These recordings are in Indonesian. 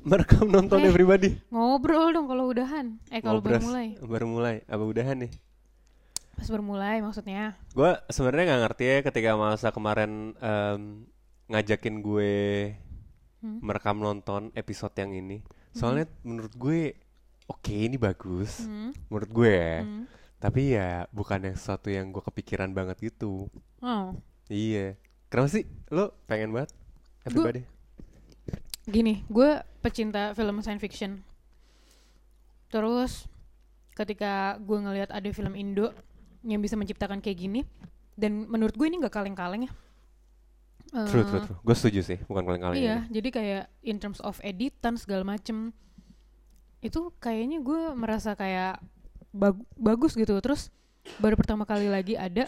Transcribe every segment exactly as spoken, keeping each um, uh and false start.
Merekam nonton Eh, everybody. Ngobrol dong kalau udahan. Eh kalau baru Ngobras. mulai. Baru mulai. Apa udahan nih? Pas baru mulai maksudnya. Gue sebenarnya nggak ngerti ya ketika masa kemarin em, ngajakin gue Hmm? merekam nonton episode yang ini. Mhm. Soalnya menurut gue oke ini bagus. Hmm? Menurut gue ya. Hmm? Tapi ya bukan yang sesuatu yang gue kepikiran banget gitu. Oh, Iya. Kenapa sih? Lo pengen banget? Everybody. gini, gue pecinta film science fiction. Terus ketika gue ngelihat ada film Indo yang bisa menciptakan kayak gini, dan menurut gue ini nggak kaleng-kaleng ya. Eh, True, true, true. Gue setuju sih. Bukan kaleng-kaleng Iya, ini. jadi kayak in terms of editan segala macem itu kayaknya gue merasa kayak bag- bagus gitu. Terus baru pertama kali lagi ada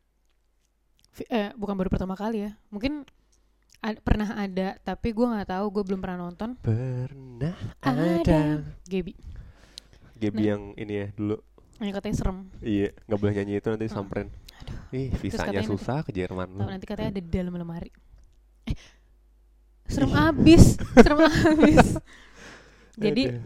fi- eh bukan baru pertama kali ya, mungkin ad- pernah ada tapi gue nggak tahu, gue belum pernah nonton. Pernah Ada ada. Gaby Gaby Nah. yang ini ya dulu. yang katanya serem. Iya, nggak boleh nyanyi itu nanti Ah. samperin. Aduh, Ih, visanya katanya nanti- susah ke Jerman. tahu nanti katanya ada di dalam lemari. Eh, serem abis, serem abis. Jadi Aduh.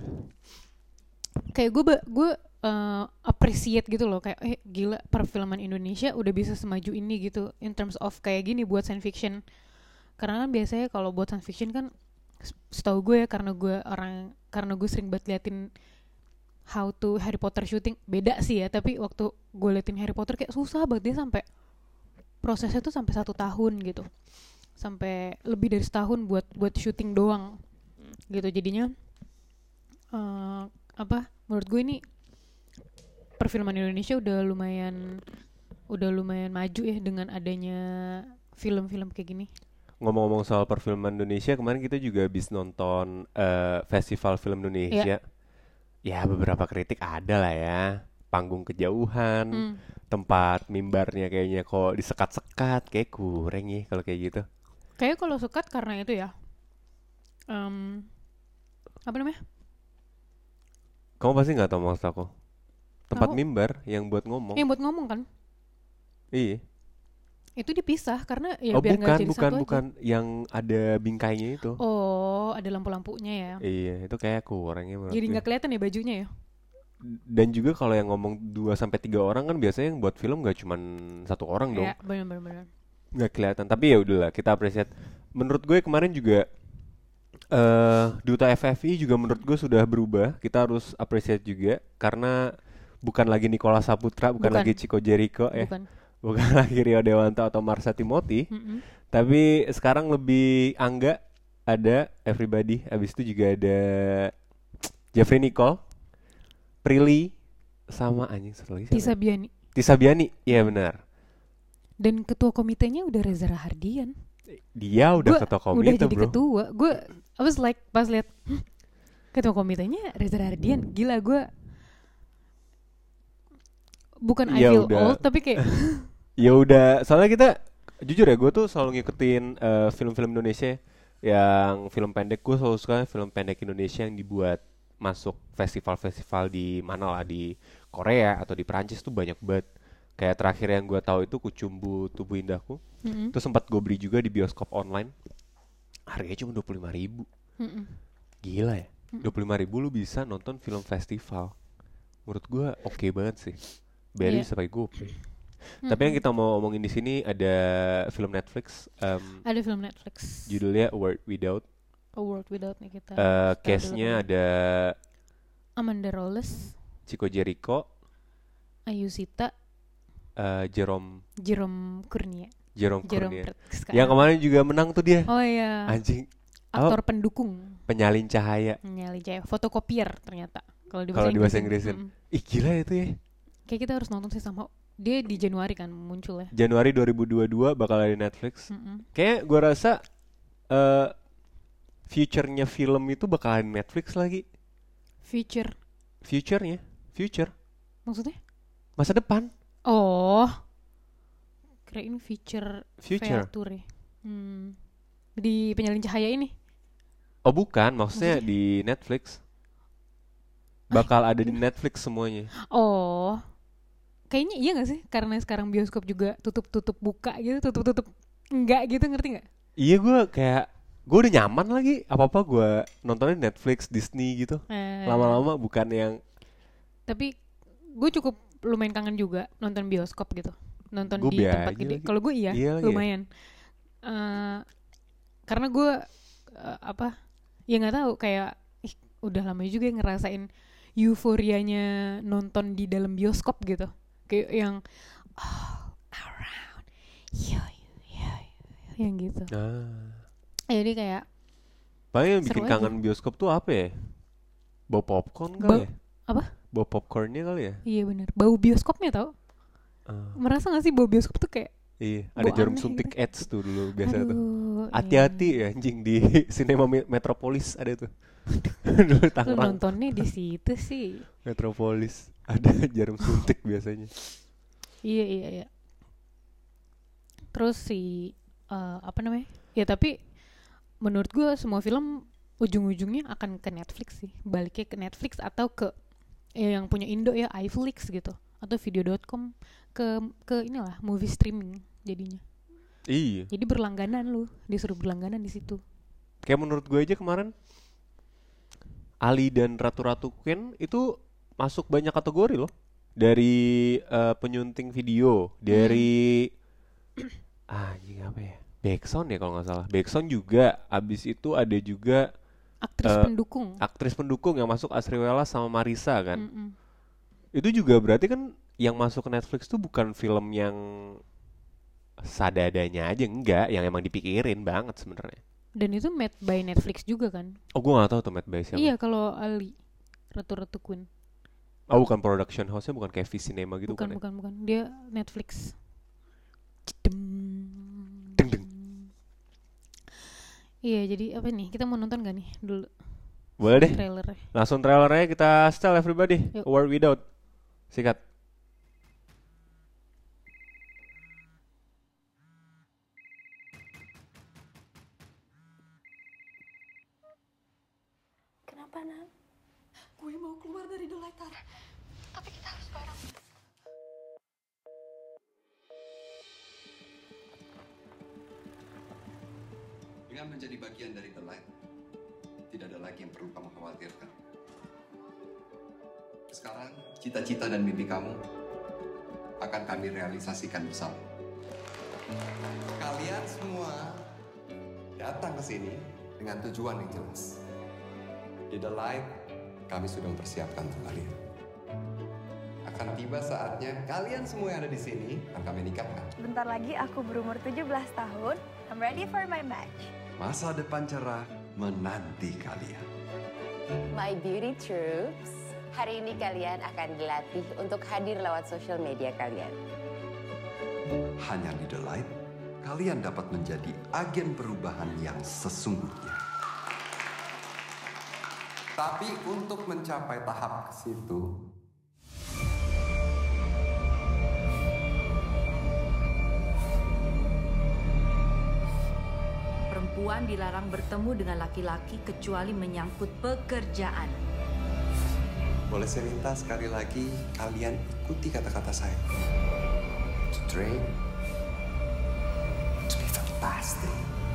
kayak gue gue uh, appreciate gitu loh, kayak eh gila perfilman Indonesia udah bisa semaju ini gitu in terms of kayak gini buat science fiction. Karena kan biasanya kalau buat science fiction kan s- setahu gue ya, karena gue orang karena gue sering banget liatin how to Harry Potter shooting, beda sih ya, tapi waktu gue liatin Harry Potter kayak susah banget, dia sampai prosesnya tuh sampai satu tahun gitu, sampai lebih dari setahun buat buat syuting doang gitu. Jadinya eh, apa menurut gue ini perfilman Indonesia udah lumayan udah lumayan maju ya dengan adanya film-film kayak gini. Ngomong-ngomong soal perfilman Indonesia, kemarin kita juga habis nonton eh, Festival Film Indonesia. Ya, beberapa kritik ada lah ya. Panggung kejauhan, Hmm. tempat mimbarnya kayaknya kok disekat-sekat, kayak kurang ya kalau kayak gitu. Kayaknya kalau sekat karena itu ya. Em, apa namanya? Kamu pasti nggak tahu maksud aku. Tempat Tahu. mimbar yang buat ngomong. Yang buat ngomong kan? Iya. Itu dipisah karena ya Oh biar nggak bukan, jadi bukan, satu bukan yang ada bingkainya itu. aja. Oh, ada lampu-lampunya ya. Iya, itu kayak kurangnya menurut Jadi gue. nggak kelihatan ya bajunya ya. Dan juga kalau yang ngomong dua sampai tiga orang kan biasanya yang buat film gak cuman satu orang dong. Ya, benar-benar. Nggak kelihatan. Tapi ya udahlah, kita appreciate. Menurut gue kemarin juga eh Duta F F I juga menurut gue sudah berubah. Kita harus appreciate juga karena bukan lagi Nicholas Saputra, bukan, Bukan. lagi Chico Jericho ya. Bukan. Bukan lagi Rio Dewanto atau Marsha Timothy. Mm-mm. Tapi sekarang lebih Angga, ada Everybody. Abis itu juga ada Jeffrey Nicole, Prilly, sama anjing satu lagi siapa Tisa ya? Biani. Tisa Biani. Iya benar. Dan ketua komitenya udah Reza Rahardian. Dia udah Gua ketua udah komite jadi bro. ketua. Gue I was like pas lihat "Hm, ketua komitenya Reza Rahardian. Gila, gue bukan I Ya feel udah. old tapi kayak Ya udah, soalnya kita jujur ya, gue tuh selalu ngikutin eh, film-film Indonesia yang film pendek. Gue selalu suka film pendek Indonesia yang dibuat masuk festival-festival di mana lah, di Korea atau di Perancis tuh banyak banget. Kayak terakhir yang gue tahu itu Kucumbu Tubuh Indahku. Mm-mm. Itu sempat gue beli juga di bioskop online. Harganya cuma dua puluh lima ribu. Mm-mm. Gila ya, dua puluh lima ribu lu bisa nonton film festival. Menurut gue oke banget sih. Bayarnya Iya. bisa pakai GoPay. Tapi yang kita mau omongin di sini ada film Netflix, em, Ada film Netflix judulnya A World Without. A World Without Nikita. Eh, Kita case-nya dulu ada Amanda Rolles, Chico Jericho, Ayu Sita, eh, Jerome Jerome Kurnia. Jerome Jerome Kurnia. Pret- Yang kemarin juga menang tuh dia. Oh iya, Anjing, aktor pendukung. penyalin cahaya. Nyali Jaya, fotokopier ternyata. Kalau di Kalau bahasa di bahasa Inggris. Inggrisin. Ih gila itu ya. Kayak kita harus nonton sih sama. Dia di Januari kan muncul ya. Januari dua ribu dua puluh dua bakal ada di Netflix. Mm-mm. Kayak gue rasa eh future-nya film itu bakal ada di Netflix lagi. Future Future-nya, future, maksudnya? masa depan, Oh, kirain feature future. feature ya. Hmm. Di penyalin cahaya ini. Oh bukan, maksudnya Maksudnya? di Netflix. Bakal ada di Netflix semuanya. Oh, kayaknya iya gak sih? Karena sekarang bioskop juga tutup-tutup buka gitu, tutup-tutup enggak gitu, ngerti gak? Iya gue kayak gue udah nyaman lagi, apa-apa gue nontonnya Netflix, Disney gitu. Eh, Lama-lama bukan yang Tapi gue cukup lumayan kangen juga nonton bioskop gitu. Nonton Gua di biasa tempat aja gede. lagi. Kalau gue iya, Iya lagi ya. lumayan. Eh, karena gue eh, apa? Ya nggak tahu kayak ih, udah lama juga ngerasain euforianya nonton di dalam bioskop gitu. Kayak yang all around you, you, you, you, yang gitu. Nah, Jadi kayak paling yang seru bikin aja. kangen bioskop tuh apa ya? Bau popcorn kali Bau- ya? apa? Bau popcornnya kali ya? Iya benar. Bau bioskopnya tau? Ah, Merasa gak sih bau bioskop tuh kayak iya, ada bau jarum aneh suntik gitu. AIDS tuh dulu biasa tuh. Aduh, Hati-hati iya. ya anjing di Cinema Me- Metropolis ada tuh. Dulu Lu Tangerang nontonnya di situ sih. Metropolis ada jarum suntik biasanya. Iya iya iya. Terus si eh, apa namanya? Ya tapi menurut gue semua film ujung-ujungnya akan ke Netflix sih. Baliknya ke Netflix atau ke ya yang punya Indo ya iFlix gitu atau video dot com ke ke inilah movie streaming jadinya. Iya. Jadi berlangganan lu, disuruh berlangganan di situ. Kayak menurut gue aja kemarin Ali dan Ratu-Ratu Queen itu masuk banyak kategori loh. Dari eh, penyunting video, dari ah anjing apa ya? Backsound ya kalau nggak salah. Backsound juga. Abis itu ada juga Aktris Eh, pendukung. aktris pendukung yang masuk Asri Welas sama Marisa kan. Mm-mm. Itu juga berarti kan yang masuk ke Netflix tuh bukan film yang sadadanya aja, enggak, yang emang dipikirin banget sebenarnya. Dan itu made by Netflix juga kan? Oh, gua nggak tahu tuh Matt Bay siapa. Iya kalau Ali Ratu-Ratu Queen. Oh, bukan production house-nya, bukan kayak V Cinema gitu Bukan kan ya? bukan bukan. Dia Netflix. Deng deng. Iya jadi apa nih? Kita mau nonton gak nih dulu Boleh deh. trailernya? Langsung trailernya kita setel everybody. Yuk. A War Without. Sikat. Kenapa, Nak? Gue mau keluar dari The Light, Tar. Tapi kita harus bareng. Dengan menjadi bagian dari The Light, tidak ada lagi yang perlu kamu khawatirkan. Sekarang, cita-cita dan mimpi kamu akan kami realisasikan bersama. Kalian semua datang ke sini dengan tujuan yang jelas. Di The Light, kami sudah mempersiapkan untuk kalian. Akan tiba saatnya kalian semua yang ada di sini akan kami nikahkan. Bentar lagi aku berumur tujuh belas tahun. I'm ready for my match. Masa depan cerah menanti kalian. My beauty troops, hari ini kalian akan dilatih untuk hadir lewat social media kalian. Hanya di The Light, kalian dapat menjadi agen perubahan yang sesungguhnya. Tapi untuk mencapai tahap ke situ, Perempuan dilarang bertemu dengan laki-laki kecuali menyangkut pekerjaan. boleh saya minta sekali lagi kalian ikuti kata-kata saya. To train, to be fantastic,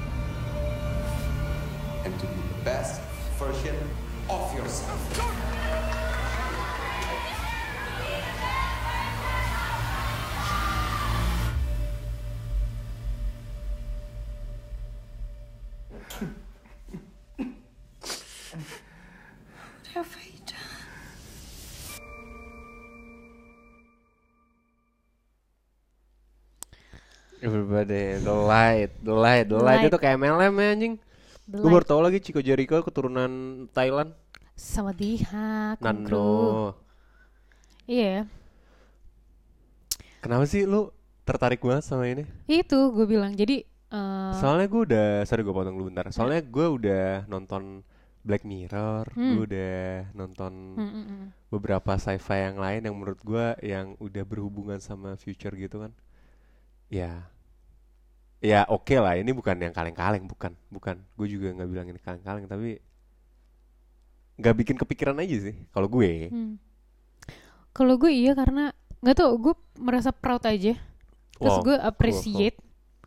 and to be the best version of yourself. Everybody, The Light, The Light, The The Light Light. itu kayak M L M ya anjing. The Gue baru Light. tau lagi Chico Jericho keturunan Thailand. Sawadee-ha, kungkru. Nano. Iya. Kenapa sih lu tertarik banget sama ini? Itu gue bilang. Jadi eh, Soalnya gue udah, sorry gue potong dulu bentar. Soalnya gue udah nonton Black Mirror, Hmm. gue udah nonton mm, mm, mm. beberapa sci-fi yang lain yang menurut gue yang udah berhubungan sama future gitu kan. Ya, ya oke lah. Ini bukan yang kaleng-kaleng, bukan, bukan. Gue juga nggak bilang ini kaleng-kaleng, tapi nggak bikin kepikiran aja sih. Kalau gue, Hmm. Kalau gue iya karena nggak tau gue merasa proud aja. Terus Wow, gue cool, appreciate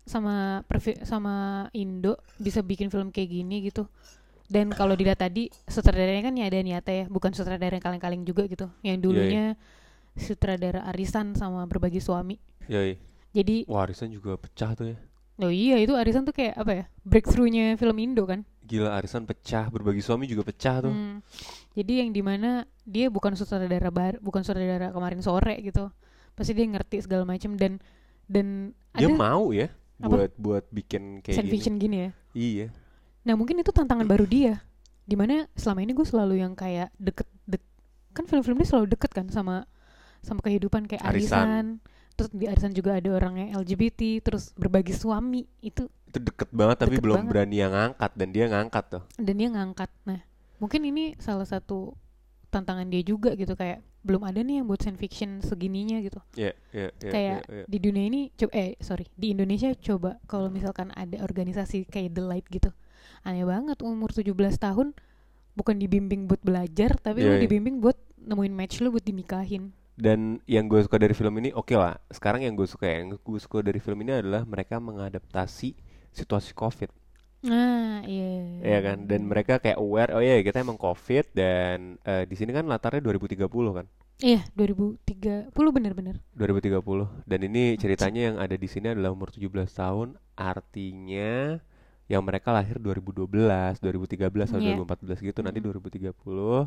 sama perfi- sama Indo bisa bikin film kayak gini gitu. Dan kalau dilihat tadi sutradaranya kan ya ada Niata ya, bukan sutradara yang kaleng-kaleng juga gitu. Yang dulunya sutradara Arisan sama Berbagi Suami. Yoi. Jadi Wah, Arisan juga pecah tuh ya. oh iya itu Arisan tuh kayak apa ya? Breakthrough-nya film Indo kan. Gila, Arisan pecah, Berbagi Suami juga pecah tuh. Hmm. Jadi yang dimana dia bukan sutradara bar, bukan sutradara Kemarin Sore gitu. Pasti dia ngerti segala macam dan dan Dia ada mau ya Apa? buat buat bikin kayak science gini. fiction gini ya. Iya. Nah mungkin itu tantangan baru dia. Dimana selama ini gue selalu yang kayak deket, dek, kan film-film dia selalu deket kan sama sama kehidupan kayak Arisan. Arisan. Terus di Arisan juga ada orangnya L G B T, terus Berbagi Suami itu Itu deket banget tapi Deket belum banget. berani yang ngangkat, dan dia ngangkat tuh. dan dia ngangkat. Nah mungkin ini salah satu tantangan dia juga gitu, kayak belum ada nih yang buat science fiction segininya gitu. Iya, iya, iya. Kayak iya, iya. di dunia ini coba eh sorry di Indonesia coba kalau misalkan ada organisasi kayak The Light gitu, aneh banget umur tujuh belas tahun bukan dibimbing buat belajar tapi Iya, lu iya. dibimbing buat nemuin match lu buat dinikahin. Dan yang gue suka dari film ini, oke lah. Sekarang yang gue suka yang gue suka dari film ini adalah mereka mengadaptasi situasi COVID. Nah iya Iya kan, dan mereka kayak aware, oh iya kita emang COVID, dan eh, di sini kan latarnya dua ribu tiga puluh kan, iya dua ribu tiga puluh bener-bener. dua ribu tiga puluh, dan ini ceritanya yang ada di sini adalah umur tujuh belas tahun, artinya yang mereka lahir dua ribu dua belas, dua ribu tiga belas atau Iya. dua ribu empat belas gitu, nanti Mm-mm. dua ribu tiga puluh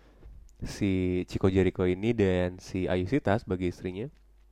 si Chico Jericho ini dan si Ayu Sita sebagai istrinya,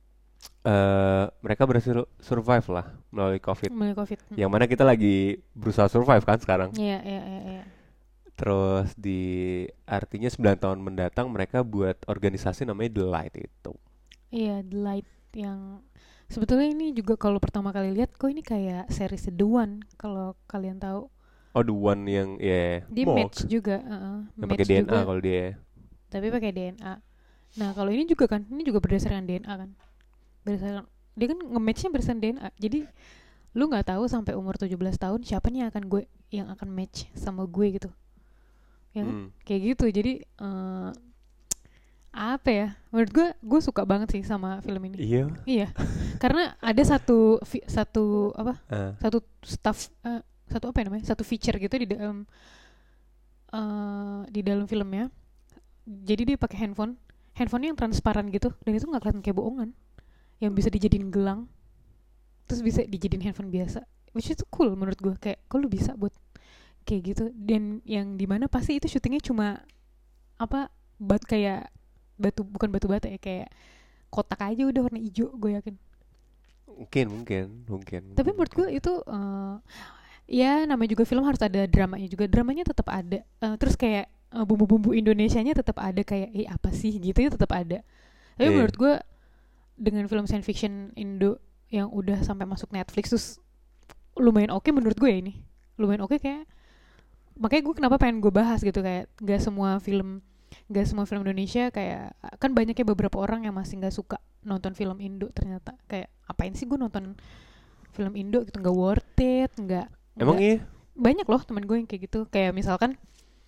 eh mereka berhasil survive lah melalui COVID. Mulai COVID. Mm. Yang mana kita lagi berusaha survive kan sekarang. Iya iya iya iya. Terus di artinya sembilan tahun mendatang mereka buat organisasi namanya The Light itu. Iya The Light yang sebetulnya ini juga kalau pertama kali lihat kok ini kayak series The One kalau kalian tahu. Oh, the one yang ya Dia Morgue. match juga, uh, yang match pakai D N A juga, kalau dia. tapi pakai D N A. Nah kalau ini juga kan, ini juga berdasarkan D N A kan, berdasarkan dia kan nge-matchnya berdasarkan D N A. Jadi lu nggak tahu sampai umur tujuh belas tahun siapa nih yang akan gue yang akan match sama gue gitu, ya kan? Hmm. Kayak gitu. Jadi uh, apa ya? Menurut gue, gue suka banget sih sama film ini. Iya. Iya, karena ada satu fi- satu apa? Ah. Satu staff eh, satu apa ya namanya? Satu feature gitu di dalam eh, di dalam filmnya. Jadi dia pakai handphone, handphonenya yang transparan gitu, dan itu nggak kelihatan kayak bohongan, yang bisa dijadiin gelang, terus bisa dijadiin handphone biasa, which is cool menurut gue. Kayak kok lu bisa buat kayak gitu, dan yang dimana pasti itu syutingnya cuma apa bat kayak batu bukan batu bata ya, kayak kotak aja udah warna hijau gue yakin. Mungkin, mungkin, mungkin. Tapi mungkin, menurut gue mungkin. itu uh, ya namanya juga film harus ada dramanya juga, dramanya tetap ada. Uh, terus kayak uh, bumbu-bumbu Indonesianya tetap ada, kayak eh apa sih gitu ya tetap ada. Tapi Iya. menurut gue dengan film science fiction Indo yang udah sampai masuk Netflix terus lumayan oke menurut gue ya ini, lumayan oke kayak. Makanya gue kenapa pengen gue bahas gitu, kayak gak semua film gak semua film Indonesia, kayak kan banyaknya beberapa orang yang masih gak suka nonton film Indo, ternyata kayak apain sih gue nonton film Indo gitu, gak worth it, gak, Emang nggak- iya? banyak loh teman gue yang kayak gitu. Kayak misalkan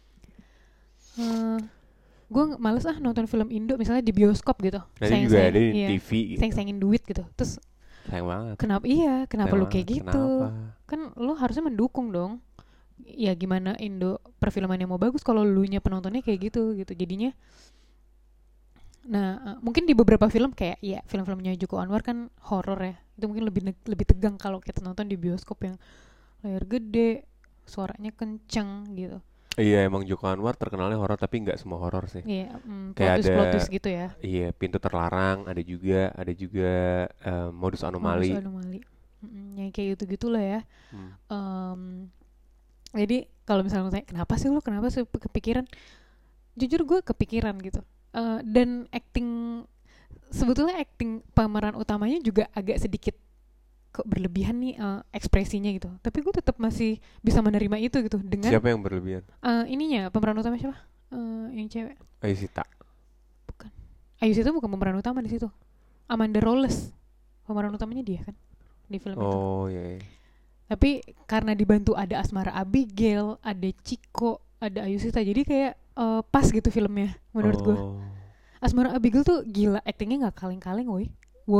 uh, gue males ah nonton film Indo misalnya di bioskop gitu, Nanti juga ada di iya, T V gitu. sayang-sayangin duit gitu. Terus Sayang banget. kenapa iya kenapa Sayang lu kayak banget. gitu? Kenapa? Kan lu harusnya mendukung dong. Ya gimana Indo perfilmannya mau bagus kalau lu nya penontonnya kayak gitu gitu jadinya. Nah uh, mungkin di beberapa film kayak ya film-filmnya Joko Anwar kan horor ya, itu mungkin lebih neg- lebih tegang kalau kita nonton di bioskop yang layar gede, suaranya kenceng gitu. Iya, emang Joko Anwar terkenalnya horor, tapi nggak semua horor sih. Iya, mm, Kayak plot twist, ada- plot twist gitu ya. Iya, Pintu Terlarang ada juga, ada juga eh, Modus Anomali. Modus Anomali. Mm, yang kayak gitu-gitu lah ya. Hmm. Em, jadi kalau misalnya tanya kenapa sih lu kenapa sih kepikiran, jujur gue kepikiran gitu. Eh, dan acting sebetulnya acting pemeran utamanya juga agak sedikit kok berlebihan nih eh, ekspresinya gitu. Tapi gue tetap masih bisa menerima itu gitu dengan Siapa yang berlebihan? eh, ininya pemeran utama siapa? Eh, yang cewek. Ayu Sita. Bukan. Ayu Sita bukan pemeran utama di situ. Amanda Rolles pemeran utamanya dia kan di film itu. Oh iya. iya. Tapi karena dibantu ada Asmara Abigail, ada Chico, ada Ayu Sita, jadi kayak eh, pas gitu filmnya menurut gue. Oh. Asmara Abigail tuh gila, actingnya nggak kaleng-kaleng, woi, woi,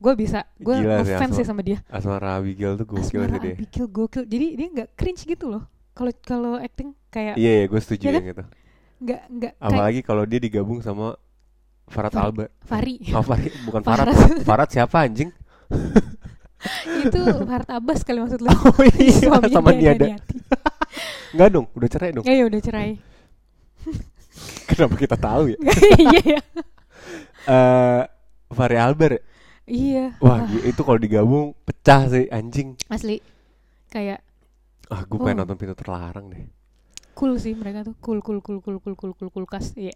gue bisa, gue Gila sih, ngefans Asma- sih sama dia. Asmara Abigail tuh gokil Asmara sih dia. Abigail gokil, jadi dia nggak cringe gitu loh. Kalau kalau acting kayak Iya, iya gue setuju Ya kan? yang itu. nggak nggak kayak Apalagi kalau dia digabung sama Farhad Far- Albar. Fahri. Oh, Farhad, bukan Farhad. Farhad. Farhad siapa anjing? Itu Farhad Abbas kali maksud lo. Oh iya, Suaminya sama Diana Niada. Niati. Enggak dong, udah cerai dong. Ya ya udah cerai. Kenapa kita tahu ya? Iya ya. Eh, Fahri Albar. ya? Iya. Wah, gi- itu kalau digabung pecah sih anjing. Asli kayak Ah, gue pengen Oh. nonton Pintu Terlarang deh. cool sih mereka tuh. Cool cool cool cool cool cool cool kulkas. Iya.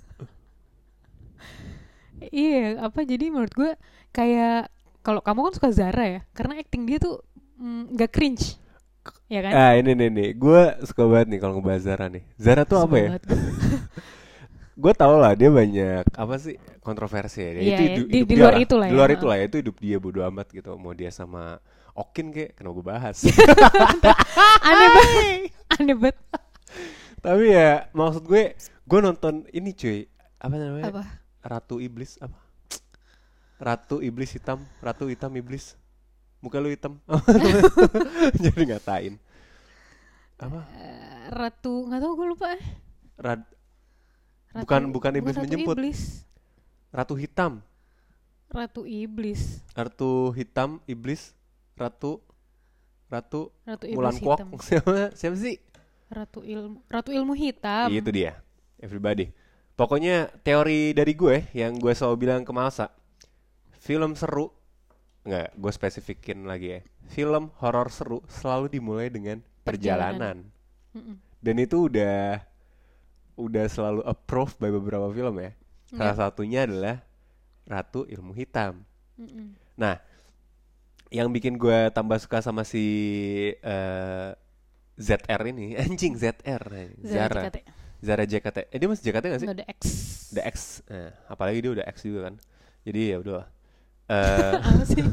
Iya, apa jadi menurut gue kayak kalau kamu kan suka Zara ya, karena acting dia tuh mm, nggak cringe, ya kan? Ah, ini nih nih, gue suka banget nih kalau ngebahas Zara nih. Zara tuh apa Suka ya? banget gue. Gue tau lah dia banyak apa sih kontroversi ya. Iya, itu iya. hidup, Di- hidup di dia luar lah. itu lah Di ya. luar itu lah, itu hidup dia bodo amat gitu. Mau dia sama Okin kayak kenapa gue bahas. Aneh banget, aneh banget. Tapi ya maksud gue, gue nonton ini cuy, apa namanya? Apa? Ratu Iblis apa? Ratu Iblis hitam, Ratu hitam iblis. Muka lu hitam. Jadi ngatain. Apa? Eh, Ratu nggak tahu gue lupa. Rad, Ratu- bukan bukan iblis Ratu menjemput. Iblis. Ratu hitam. Ratu Iblis. Ratu hitam iblis. Ratu Ratu Ratu Mulan Iblis Kwok. hitam. Siapa siapa sih? Ratu ilmu, Ratu ilmu hitam. Itu dia. Everybody. Pokoknya teori dari gue yang gue selalu bilang ke Malsa, film seru, nggak, gue spesifikin lagi ya. Film horor seru selalu dimulai dengan perjalanan. Perjalanan. Mm-mm. Dan itu udah udah selalu approved by beberapa film ya. Salah satunya adalah Ratu Ilmu Hitam. Mm-mm. Nah, yang bikin gue tambah suka sama si eh, Z R ini, anjing Z R, Zara, Zara J K T. Zara J K T. Eh dia masih J K T nggak sih? Nggak ada X. The X, nah, apalagi dia udah X juga kan. Jadi ya udah. Eh, Apa sih?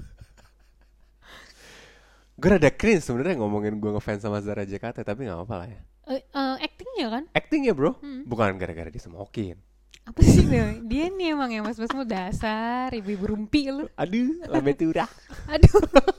gue rada cringe sebenarnya ngomongin gue ngefans sama Zara J K T, tapi nggak apa-apa lah ya. Eh, eh, actingnya kan? Acting ya bro, Hmm. bukan gara-gara dia smokin. Apa sih dia? Dia nih emang ya mas-mas mau dasar ibu-ibu rumpi lu. Aduh, lametura. Aduh.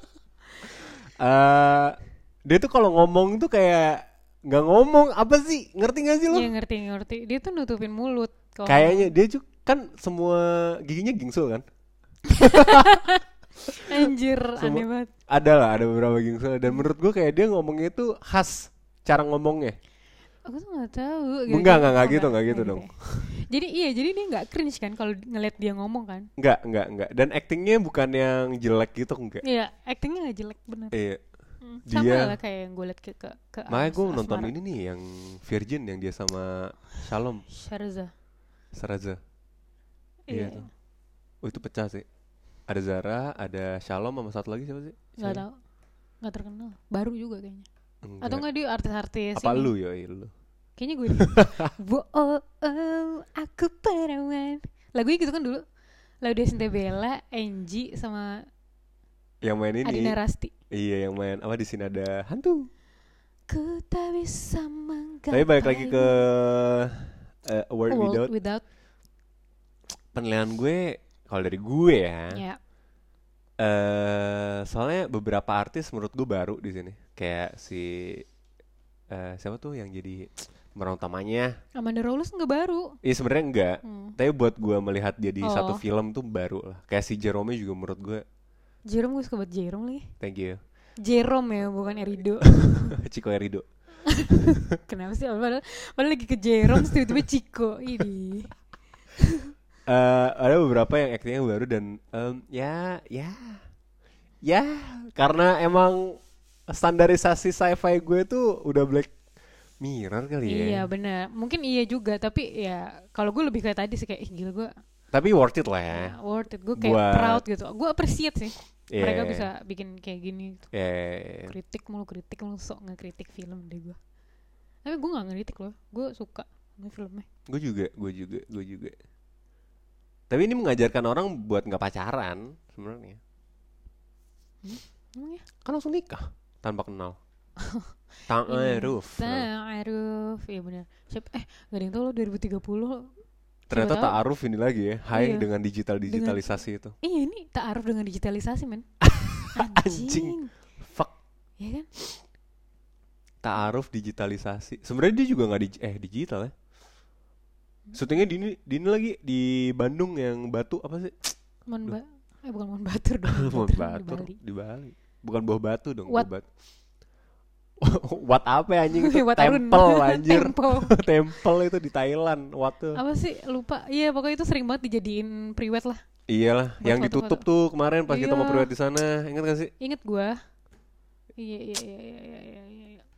Eh, dia tuh kalau ngomong tuh kayak nggak ngomong apa sih? Ngerti nggak sih lo? Iya ngerti ngerti. Dia tuh nutupin mulut. kalau Kayaknya dia juga kan semua giginya gingsul kan? ngomong. Anjir, Semua- aneh banget. Ada lah, ada beberapa gingsul. Dan menurut gue kayak dia ngomongnya tuh khas cara ngomongnya. Aku tuh nggak tahu. Enggak, enggak, enggak Oh, gitu, enggak gitu ya. dong. Jadi iya, jadi dia nggak cringe kan kalau ngeliat dia ngomong kan? Enggak, enggak, enggak. Dan actingnya bukan yang jelek gitu, enggak. Iya, actingnya nggak jelek bener. Iya. Hmm, dia- Sama lah kayak yang gue liat ke ke, ke Makanya gue As- nonton Asmara. ini nih yang Virgin yang dia sama Shalom Sharza. Saraza. Iya. Iya tuh. Oh itu pecah sih. Ada Zara, ada Shalom sama satu lagi siapa sih? Nggak Siapa? tahu, nggak terkenal. Baru juga kayaknya. Enggak. Atau nggak dia artis-artis? Apa ini. lu yoi lu? Kayaknya gue deh. Wo oh, oh, aku perawan. Lagunya gitu kan dulu. Lagu Desinte Bella, Angie sama Yang main ini. Adina Rasti. Iya yang main apa di sini ada hantu. Ku tak bisa menggapai. Tapi balik lagi ke uh, A World World Without. Without. Penilaian gue kalau dari gue ya. Ya. Eh soalnya beberapa artis menurut gue baru di sini. Kayak si eh siapa tuh yang jadi pemeran utamanya? Amanda Rawless nggak baru. Iya sebenarnya enggak. Hmm. Tapi buat gue melihat dia di Oh. satu film tuh baru lah. Kayak si Jerome juga menurut gue. Jerome, gue suka banget Jerome lagi. Thank you. Jerome ya, bukan Erido. Chico Erido. Kenapa sih? Padahal, padahal lagi ke Jerome, terus tiba-tiba Chico. Ini. Eh ada beberapa yang aktingnya baru dan em, ya ya ya karena emang standarisasi sci-fi gue tuh udah Black Mirror kali ya. Iya benar. Mungkin iya juga, tapi ya kalau gue lebih kayak tadi sih kayak ih gila gue Tapi worth it lah ya. ya, worth it. Gue kayak Buat- proud gitu. Gue appreciate sih. Iya. Mereka bisa bikin kayak gini. Gitu. Ya, ya, ya. Kritik mulu, kritik mulu, sok ngekritik film deh gue. Tapi gue nggak ngeritik loh. Gue suka sama filmnya. Gue juga, gue juga, gue juga. Tapi ini mengajarkan orang buat nggak pacaran sebenarnya. Emang ya? Kan langsung nikah tanpa kenal. Ta'aruf. Ta'aruf. Iya benar. Siapa? Eh gak ada yang tau lo dua ribu tiga puluh Ternyata Siapa tahu- ta'aruf ini lagi ya, high Iya. dengan digital digitalisasi itu. Iya ini ta'aruf dengan digitalisasi men. Anjing. Fuck. Ya kan? Ta'aruf digitalisasi. Sebenarnya dia juga nggak di eh digital ya. Syutingnya di ini, di ini lagi di Bandung yang Batu apa sih? Mon ba eh bukan Mon Batur dong. Mon Batur Batu di Bali. di Bali. Bukan Buah Batu dong. What? Buah Batu. What apa ya, anjing itu? Wat Arun. Temple anjir. Temple. Temple itu di Thailand. What tuh? Apa sih lupa. Iya pokoknya itu sering banget dijadiin priwet lah. Iyalah, Buat yang foto-foto. ditutup tuh kemarin pas kita mau Iya. priwet di sana. Ingat gak sih? Ingat gua. Iya iya iya iya iya iya iya. iya.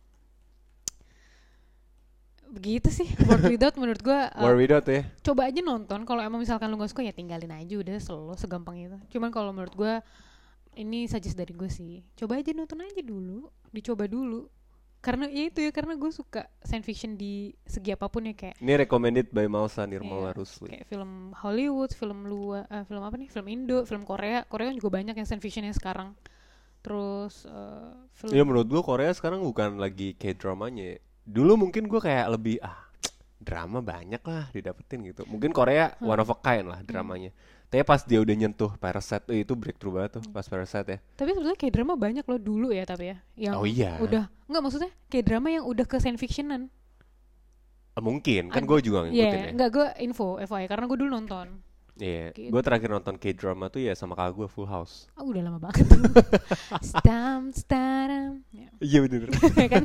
Begitu sih World Without menurut gua uh, War Without ya. coba aja nonton. Kalau emang misalkan lu gak suka ya tinggalin aja udah, selalu segampang itu. Cuman kalau menurut gua ini suggest dari gue sih, coba aja nonton aja dulu, dicoba dulu. Karena ya itu ya, karena gue suka science fiction di segi apapun ya, kayak Ini recommended by Malsa Nirmala Iya, Rusli. kayak film Hollywood, film luar, eh, film apa nih, film Indo, film Korea. Korea kan juga banyak yang science fictionnya sekarang. Terus eh, film Ya menurut gua Korea sekarang bukan lagi kayak dramanya ya. Dulu mungkin gua kayak lebih ah drama banyak lah didapetin gitu. Mungkin Korea Hmm. one of a kind lah dramanya. Tapi pas dia udah nyentuh Parasite, eh, itu breakthrough banget tuh pas Parasite ya. tapi sebetulnya kayak drama banyak loh dulu ya, tapi ya yang Oh iya. udah nggak, maksudnya kayak drama yang udah ke science fictionan. Eh, mungkin kan Ad- gue juga ngikutin Iya, ya. nggak, gue info F Y I karena gue dulu nonton. Iya, Gitu. gue terakhir nonton K-drama tuh ya sama kakak gue Full House. Ah, udah lama banget. Stam staram. Ya. Iya bener. kan?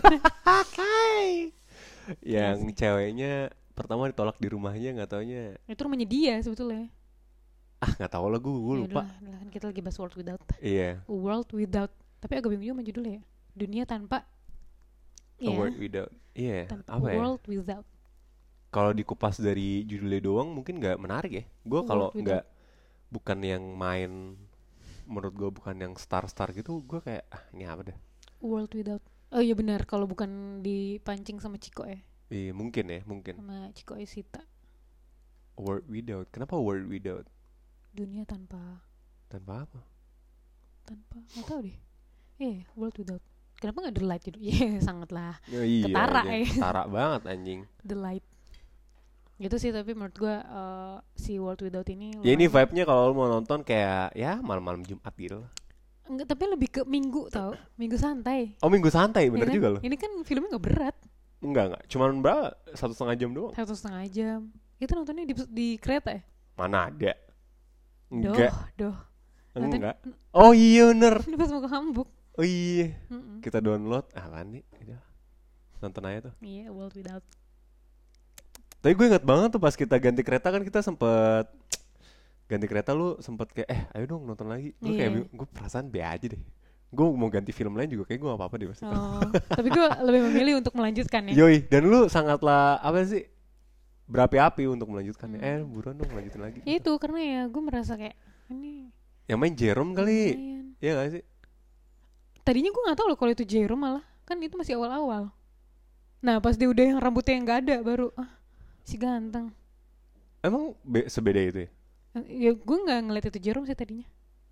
Yang ceweknya pertama ditolak di rumahnya, nggak taunya Itu rumahnya dia sebetulnya. ah nggak tahu lah gue gue Ya lupa. udahlah, udahlah, kan kita lagi bahas World Without. Iya. World Without. Tapi agak bingung juga sama judulnya ya. Dunia tanpa. A Iya, World Without. Iya. tanpa Apa ya? World Without. Kalau dikupas dari judulnya doang mungkin nggak menarik ya. Gue World kalau Without. nggak bukan yang main, menurut gue bukan yang star-star gitu, gue kayak ah ini apa deh. World Without. Oh iya benar, kalau bukan dipancing sama Ciko ya. Iya mungkin ya mungkin. Sama Ciko Isita. World Without. Kenapa World Without? Dunia tanpa Tanpa apa? tanpa nggak tahu deh. Iya, World Without. Kenapa nggak The Light itu? Iya, sangat lah. Ya, iya. Ketara, anjing. ya. Ketara banget anjing. The Light. Gitu sih, tapi menurut gua eh, si World Without ini Ya ini lumayan. vibe-nya kalau lu mau nonton kayak ya malam-malam Jumat gitu lah. Enggak, tapi lebih ke minggu tau. Minggu santai. Oh minggu santai bener Ya kan? juga loh. Ini kan filmnya nggak berat. Enggak enggak, cuman berapa? Satu setengah jam doang. Satu setengah jam. Itu nontonnya di, di kereta ya? Mana ada? Doh, Enggak, doh. Nonton- enggak. Oh iya bener. Ini pas mau ke Hamburg. Oh iya. Mm-mm. Kita download. Ah apaan nih? Udah. Nonton aja tuh. Iya, World Without. Tapi gue ingat banget tuh pas kita ganti kereta kan kita sempet ganti kereta, lu sempet kayak eh ayo dong nonton lagi. Gue kayak Iya. bingung, gue perasaan be aja deh. Gue mau ganti film lain juga kayak gue gak apa-apa deh pas itu. Oh, tapi gue lebih memilih untuk melanjutkan ya. Yoi, dan lu sangatlah apa sih? Berapi-api untuk melanjutkannya. Hmm. Eh buruan dong lanjutin lagi. Ya itu karena ya gue merasa kayak ini Yang main Jerome kali. lumayan. Iya gak sih? Tadinya gue nggak tahu loh kalau itu Jerome, malah kan itu masih awal-awal. Nah pas dia udah yang rambutnya yang nggak ada baru ah si ganteng. Emang be- sebeda itu ya? Eh, Ya gue nggak ngeliat itu Jerome sih tadinya.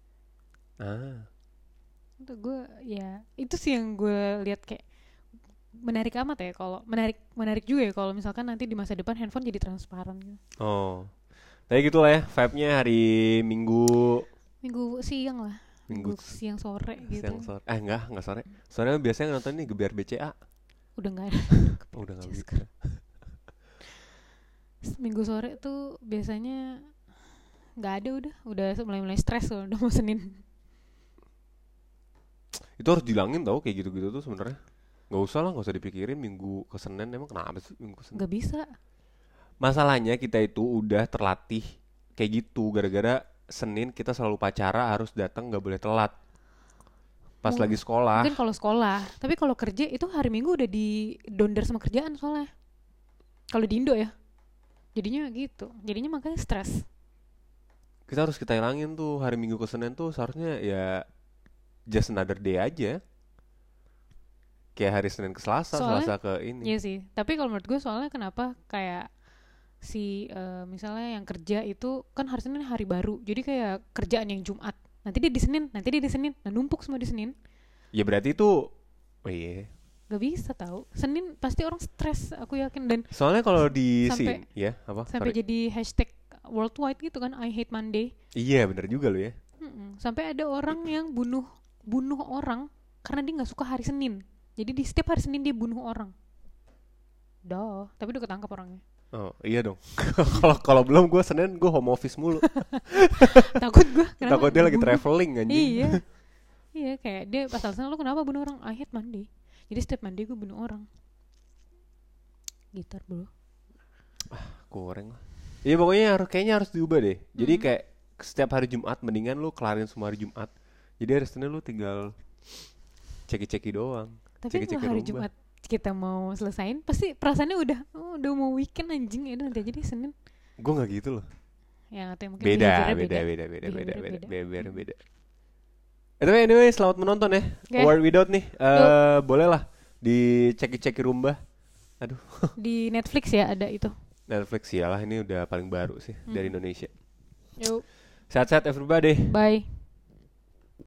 Ah. Itu gue ya itu sih yang gue lihat kayak menarik amat ya, kalau menarik menarik juga ya kalau misalkan nanti di masa depan handphone jadi transparan gitu. Oh. Tapi gitu lah ya, vibe-nya hari Minggu Minggu siang lah. Minggu Minggu siang sore gitu. siang sore. Eh enggak, enggak sore. Soalnya biasanya nonton ini Gebiar B C A. Udah nggak ada. Oh, udah enggak Yes. begitu. Minggu sore tuh biasanya nggak ada, udah udah mulai-mulai stres loh udah mau Senin. Itu harus dilangin tau kayak gitu-gitu tuh sebenarnya. Enggak usah lah, enggak usah dipikirin Minggu ke Senin, emang kenapa sih Minggu ke Senin? Nggak bisa. Masalahnya kita itu udah terlatih kayak gitu gara-gara Senin kita selalu upacara harus datang, nggak boleh telat. Pas Mung- lagi sekolah. Mungkin kalau sekolah, tapi kalau kerja itu hari Minggu udah di donder sama kerjaan soalnya. Kalau di Indo ya. Jadinya gitu. Jadinya makanya stres. Kita harus kita hilangin tuh hari Minggu ke Senin tuh seharusnya ya just another day aja. Kayak hari Senin ke Selasa, Soalnya- Selasa ke ini. Iya sih. Tapi kalau menurut gue soalnya kenapa kayak si eh, misalnya yang kerja itu kan hari Senin hari baru. Jadi kayak kerjaan yang Jumat. Nanti dia di Senin, nanti dia di Senin. Nah numpuk semua di Senin. Ya berarti itu oh iya. Gak bisa tahu. Senin pasti orang stres, aku yakin. Dan soalnya kalau di sampai- sini ya apa? sampai Sorry. jadi hashtag worldwide gitu kan, I hate Monday. Iya bener juga lu ya. Mm-mm. Sampai ada orang yang bunuh bunuh orang karena dia nggak suka hari Senin. Jadi di setiap hari Senin dia bunuh orang. Dah, tapi udah ketangkap orangnya. Oh iya dong. Kalau kalau belum gue Senin gue home office mulu. Takut gue. Takut dia lagi traveling anjing. Iya. Iya kayak dia pas alasan lu kenapa bunuh orang? I hate Monday. Jadi setiap Monday gue bunuh orang. Gitar bro. Goreng lah. Iya pokoknya harus kayaknya harus diubah deh. Jadi Hmm. kayak setiap hari Jumat mendingan lu kelarin semua hari Jumat. Jadi hari Senin lu tinggal ceki-ceki doang. Tapi Ceki-ceki kalau hari rumah. Jumat kita mau selesain pasti perasaannya udah oh, udah mau weekend anjing ya udah nanti aja deh Senin. Gue nggak gitu loh. Ya atau mungkin Beda, behaviornya beda, beda, beda, beda, Behaviornya beda, beda. beda, beda. Eh, tapi anyway, selamat menonton ya. Oke. Word Without nih, eh boleh lah diceki-ceki rumah. Aduh, Di Netflix ya ada itu. Netflix ya lah ini udah paling baru sih Hmm. dari Indonesia. Yuk, Sehat-sehat everybody. bye.